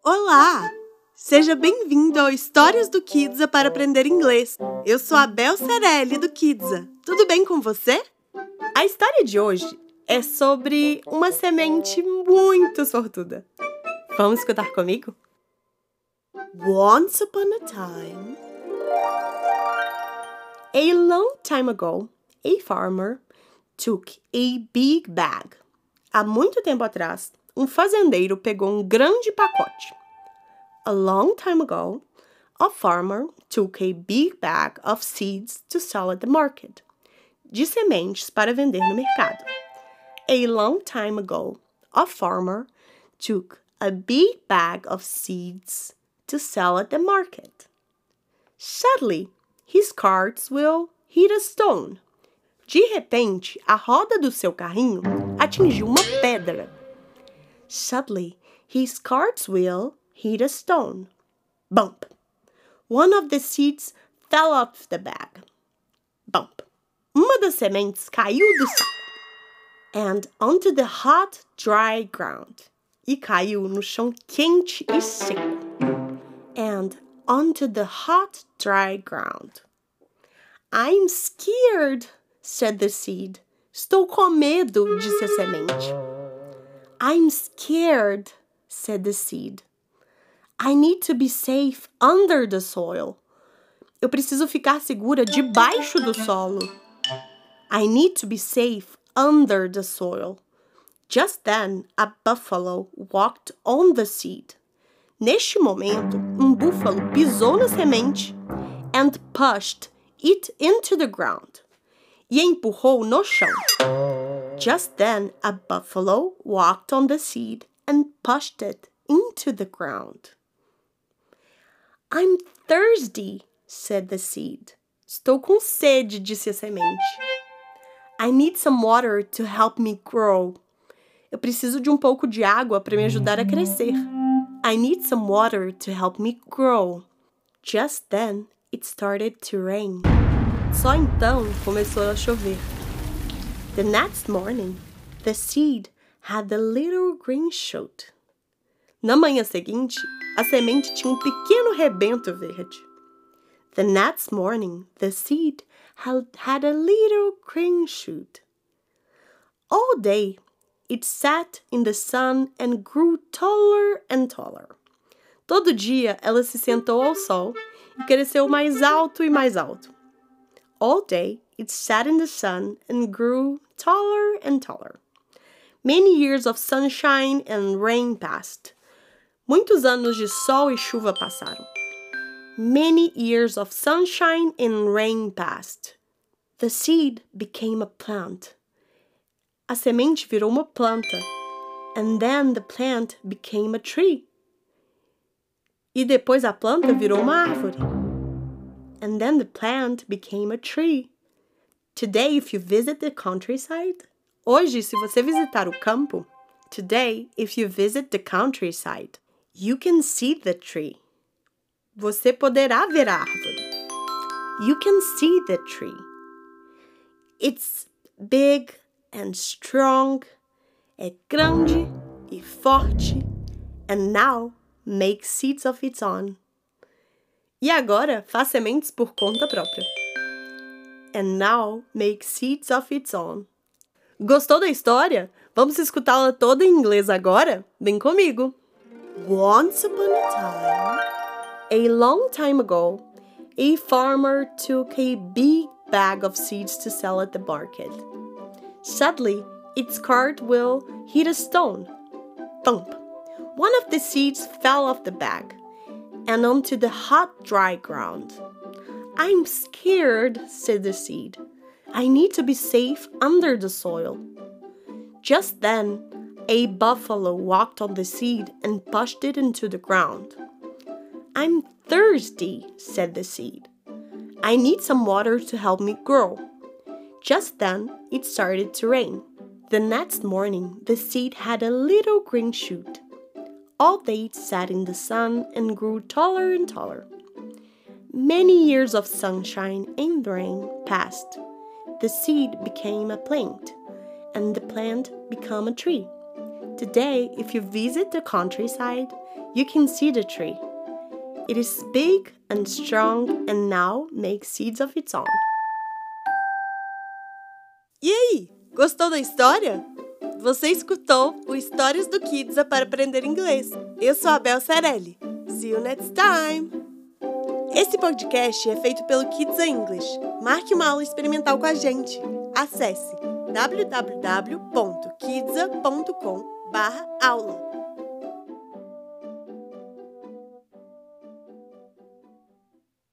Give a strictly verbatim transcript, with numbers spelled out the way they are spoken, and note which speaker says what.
Speaker 1: Olá! Seja bem-vindo ao Histórias do Kidsa para aprender inglês. Eu sou a Bel Cerelli do Kidsa. Tudo bem com você? A história de hoje é sobre uma semente muito sortuda. Vamos escutar comigo? Once upon a time, a long time ago, a farmer took a big bag. Há muito tempo atrás, um fazendeiro pegou um grande pacote. A long time ago, a farmer took a big bag of seeds to sell at the market. De sementes para vender no mercado. A long time ago, a farmer took a big bag of seeds to sell at the market. Suddenly, his cart's wheel hit a stone. De repente, a roda do seu carrinho atingiu uma pedra. Suddenly, his cart's wheel hit a stone. Bump! One of the seeds fell off the bag. Bump! Uma das sementes caiu do saco. And onto the hot, dry ground. E caiu no chão quente e seco. And onto the hot, dry ground. I'm scared, said the seed. Estou com medo, disse a semente. I'm scared, said the seed. I need to be safe under the soil. Eu preciso ficar segura debaixo do solo. I need to be safe under the soil. Just then, a buffalo walked on the seed. Neste momento, um búfalo pisou na semente and pushed it into the ground. E empurrou no chão. Just then, a buffalo walked on the seed and pushed it into the ground. I'm thirsty, said the seed. Estou com sede, disse a semente. I need some water to help me grow. Eu preciso de um pouco de água para me ajudar a crescer. I need some water to help me grow. Just then, it started to rain. Só então começou a chover. The next morning, the seed had a little green shoot. Na manhã seguinte, a semente tinha um pequeno rebento verde. The next morning, the seed had, had a little green shoot. All day, it sat in the sun and grew taller and taller. Todo dia, ela se sentou ao sol e cresceu mais alto e mais alto. All day, it sat in the sun and grew taller and taller. Many years of sunshine and rain passed. Muitos anos de sol e chuva passaram. Many years of sunshine and rain passed. The seed became a plant. A semente virou uma planta. And then the plant became a tree. E depois a planta virou uma árvore. And then the plant became a tree. Today, if you visit the countryside, hoje, se você visitar o campo, today, if you visit the countryside, you can see the tree. Você poderá ver a árvore. You can see the tree. It's big and strong. É grande e forte. And now makes seeds of its own. E agora faz sementes por conta própria. And now makes seeds of its own. Gostou da história? Vamos escutá-la toda em inglês agora? Vem comigo! Once upon a time, a long time ago, a farmer took a big bag of seeds to sell at the market. Suddenly, its cart wheel hit a stone. Thump! One of the seeds fell off the bag and onto the hot, dry ground. I'm scared, said the seed. I need to be safe under the soil. Just then, a buffalo walked on the seed and pushed it into the ground. I'm thirsty, said the seed. I need some water to help me grow. Just then, it started to rain. The next morning, the seed had a little green shoot. All day it sat in the sun and grew taller and taller. Many years of sunshine and rain passed. The seed became a plant, and the plant became a tree. Today, if you visit the countryside, You can see the tree. It is big and strong and now makes seeds of its own. E aí, gostou da história? Você escutou o Histórias do Kidsa para aprender inglês. Eu sou a Bel Cerelli. See you next time! Esse podcast é feito pelo Kidsa English. Marque uma aula experimental com a gente. Acesse w w w ponto kidsa ponto com barra aula.